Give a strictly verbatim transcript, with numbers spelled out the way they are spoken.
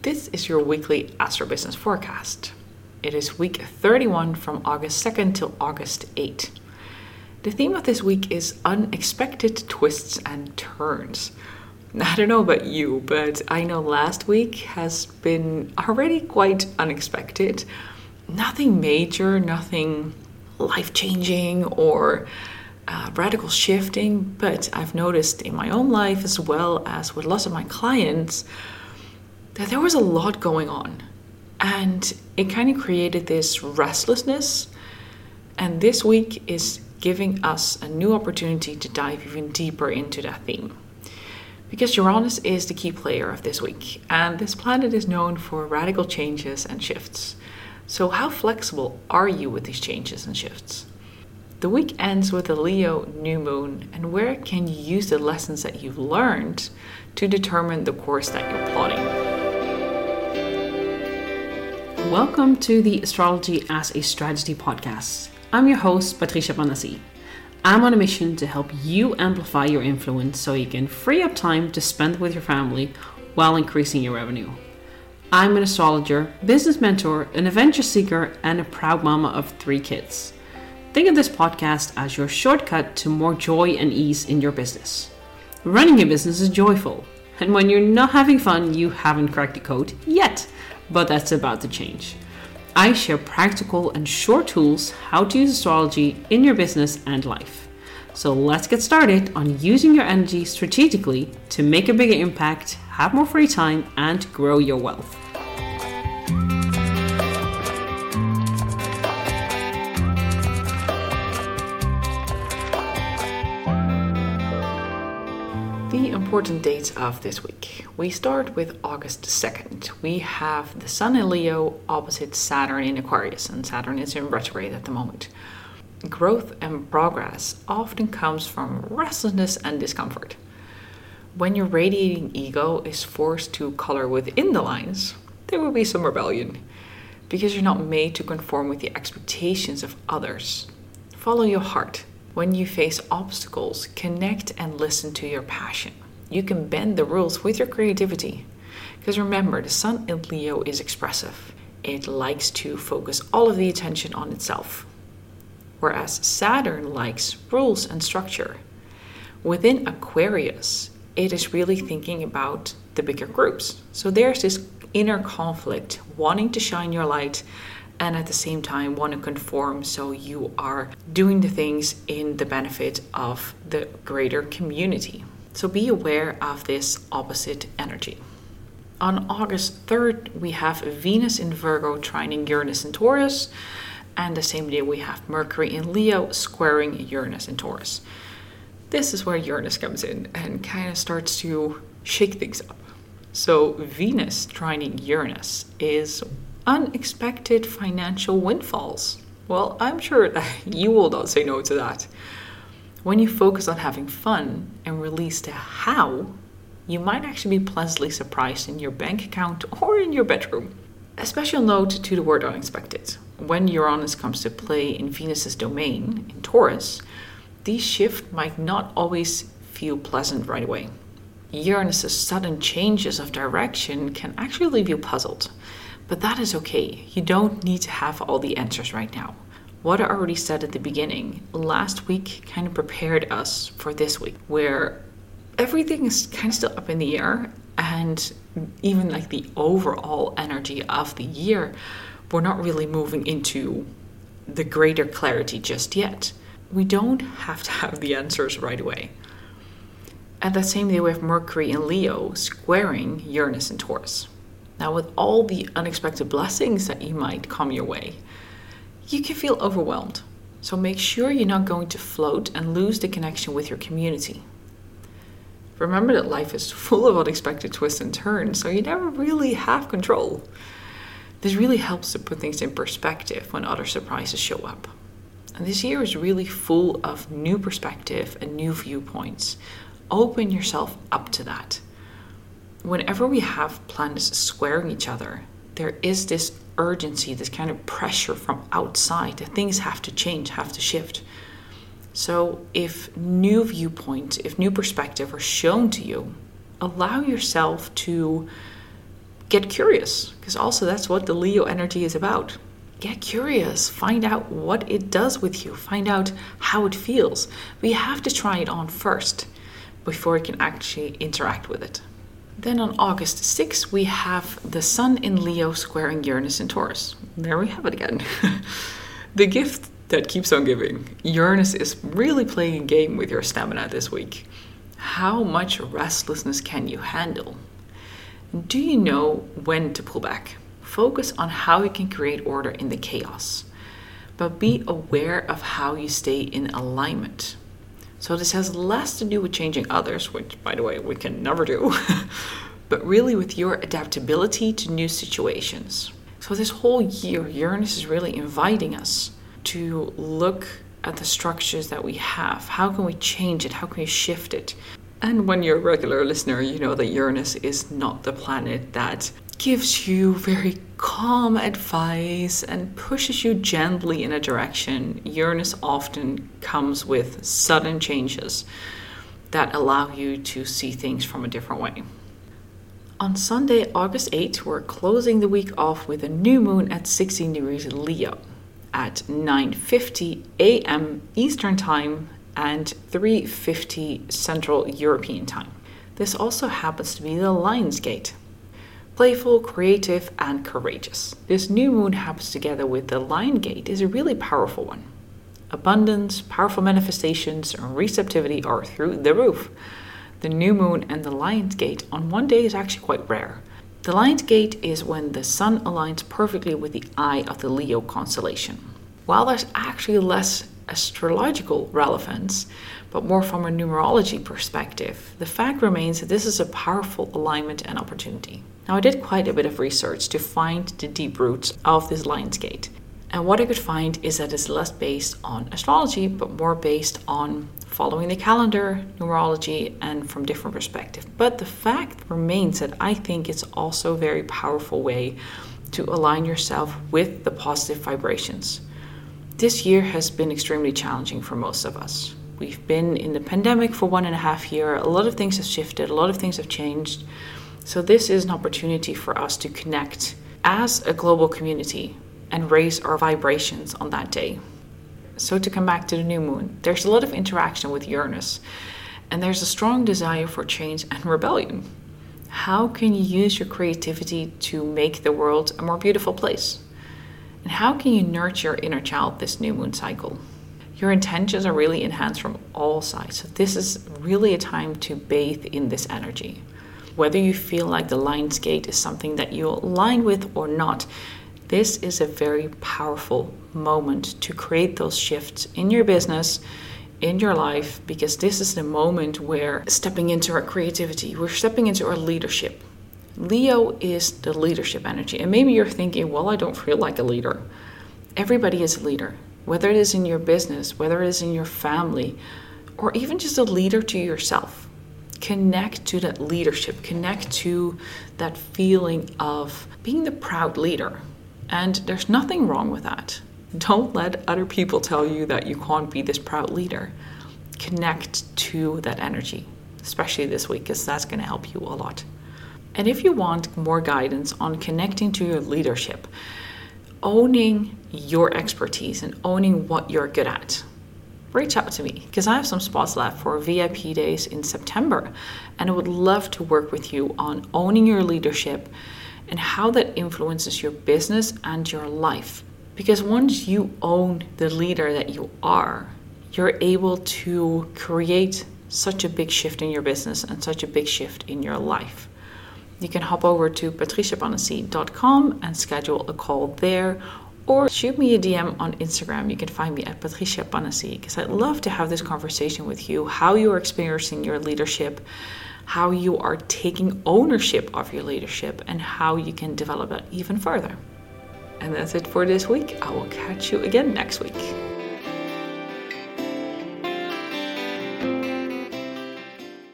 This is your weekly Astro Business Forecast. It is week thirty-one from August second till August eighth. The theme of this week is unexpected twists and turns. I don't know about you, but I know last week has been already quite unexpected. Nothing major, nothing life-changing or uh, radical shifting, but I've noticed in my own life as well as with lots of my clients that there was a lot going on, and it kind of created this restlessness. And this week is giving us a new opportunity to dive even deeper into that theme, because Uranus is the key player of this week, and this planet is known for radical changes and shifts. So how flexible are you with these changes and shifts? The week ends with a Leo new moon, and where can you use the lessons that you've learned to determine the course that you're plotting? Welcome to the Astrology as a Strategy podcast. I'm your host, Patricia Panasi. I'm on a mission to help you amplify your influence so you can free up time to spend with your family while increasing your revenue. I'm an astrologer, business mentor, an adventure seeker, and a proud mama of three kids. Think of this podcast as your shortcut to more joy and ease in your business. Running a business is joyful, and when you're not having fun, you haven't cracked the code yet. But that's about to change. I share practical and short tools how to use astrology in your business and life. So let's get started on using your energy strategically to make a bigger impact, have more free time, and grow your wealth. The important dates of this week. We start with August second. We have the Sun in Leo opposite Saturn in Aquarius, and Saturn is in retrograde at the moment. Growth and progress often comes from restlessness and discomfort. When your radiating ego is forced to color within the lines, there will be some rebellion, because you're not made to conform with the expectations of others. Follow your heart. When you face obstacles, connect and listen to your passion. You can bend the rules with your creativity. Because remember, the Sun in Leo is expressive. It likes to focus all of the attention on itself. Whereas Saturn likes rules and structure. Within Aquarius, it is really thinking about the bigger groups. So there's this inner conflict, wanting to shine your light and at the same time want to conform, so you are doing the things in the benefit of the greater community. So be aware of this opposite energy. On August third, we have Venus in Virgo trining Uranus in Taurus, and the same day we have Mercury in Leo squaring Uranus in Taurus. This is where Uranus comes in and kind of starts to shake things up. So Venus trining Uranus is unexpected financial windfalls. Well, I'm sure that you will not say no to that. When you focus on having fun and release the how, you might actually be pleasantly surprised in your bank account or in your bedroom. A special note to the word unexpected. When Uranus comes to play in Venus's domain, in Taurus, these shifts might not always feel pleasant right away. Uranus's sudden changes of direction can actually leave you puzzled. But that is okay. You don't need to have all the answers right now. What I already said at the beginning, last week kind of prepared us for this week, where everything is kind of still up in the air, and even like the overall energy of the year, we're not really moving into the greater clarity just yet. We don't have to have the answers right away. At that same day, we have Mercury in Leo squaring Uranus in Taurus. Now, with all the unexpected blessings that you might come your way, you can feel overwhelmed. So make sure you're not going to float and lose the connection with your community. Remember that life is full of unexpected twists and turns, so you never really have control. This really helps to put things in perspective when other surprises show up. And this year is really full of new perspective and new viewpoints. Open yourself up to that. Whenever we have planets squaring each other, there is this urgency, this kind of pressure from outside that things have to change, have to shift. So if new viewpoint, if new perspective are shown to you, allow yourself to Get curious, because also that's what the Leo energy is about. Get curious, find out what it does with you, find out how it feels. But you have to try it on first before you can actually interact with it. Then on August sixth, we have the Sun in Leo squaring Uranus in Taurus. There we have it again. The gift that keeps on giving. Uranus is really playing a game with your stamina this week. How much restlessness can you handle? Do you know when to pull back? Focus on how you can create order in the chaos, but be aware of how you stay in alignment. So this has less to do with changing others, which, by the way, we can never do, but really with your adaptability to new situations. So this whole year, Uranus is really inviting us to look at the structures that we have. How can we change it? How can we shift it? And when you're a regular listener, you know that Uranus is not the planet that gives you very calm advice and pushes you gently in a direction. Uranus often comes with sudden changes that allow you to see things from a different way. On Sunday, August eighth, we're closing the week off with a new moon at sixteen degrees Leo at nine fifty a.m. Eastern Time and three fifty Central European Time. This also happens to be the Lion's Gate. Playful, creative, and courageous. This new moon happens together with the Lion Gate is a really powerful one. Abundance, powerful manifestations, and receptivity are through the roof. The new moon and the Lion's Gate on one day is actually quite rare. The Lion's Gate is when the sun aligns perfectly with the eye of the Leo constellation. While there's actually less astrological relevance, but more from a numerology perspective, the fact remains that this is a powerful alignment and opportunity. Now, I did quite a bit of research to find the deep roots of this Lion's Gate. And what I could find is that it's less based on astrology, but more based on following the calendar, numerology, and from different perspectives. But the fact remains that I think it's also a very powerful way to align yourself with the positive vibrations. This year has been extremely challenging for most of us. We've been in the pandemic for one and a half years. A lot of things have shifted. A lot of things have changed. So this is an opportunity for us to connect as a global community and raise our vibrations on that day. So to come back to the new moon, there's a lot of interaction with Uranus, and there's a strong desire for change and rebellion. How can you use your creativity to make the world a more beautiful place? And how can you nurture your inner child this new moon cycle? Your intentions are really enhanced from all sides. So this is really a time to bathe in this energy. Whether you feel like the Lion's Gate is something that you align with or not, this is a very powerful moment to create those shifts in your business, in your life, because this is the moment where stepping into our creativity, we're stepping into our leadership. Leo is the leadership energy. And maybe you're thinking, well, I don't feel like a leader. Everybody is a leader, whether it is in your business, whether it is in your family, or even just a leader to yourself. Connect to that leadership, connect to that feeling of being the proud leader. And there's nothing wrong with that. Don't let other people tell you that you can't be this proud leader. Connect to that energy, especially this week, because that's going to help you a lot. And if you want more guidance on connecting to your leadership, owning your expertise and owning what you're good at, reach out to me, because I have some spots left for V I P days in September, and I would love to work with you on owning your leadership and how that influences your business and your life. Because once you own the leader that you are, you're able to create such a big shift in your business and such a big shift in your life. You can hop over to patricia panassi dot com and schedule a call there, or shoot me a D M on Instagram. You can find me at Patricia Panassi, because I'd love to have this conversation with you, how you are experiencing your leadership, how you are taking ownership of your leadership, and how you can develop it even further. And that's it for this week. I will catch you again next week.